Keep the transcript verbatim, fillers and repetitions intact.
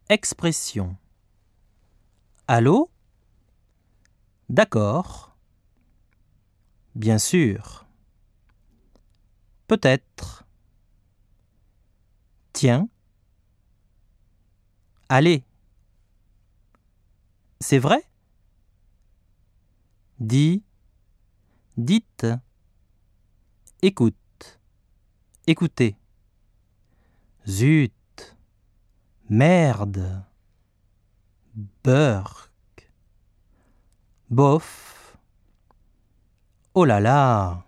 Expression. Allô? D'accord. Bien sûr. Peut-être. Tiens. Allez. C'est vrai? Dis. Dites. Écoute. Écoutez. Zut. Merde. Burk. Bof. Oh là là.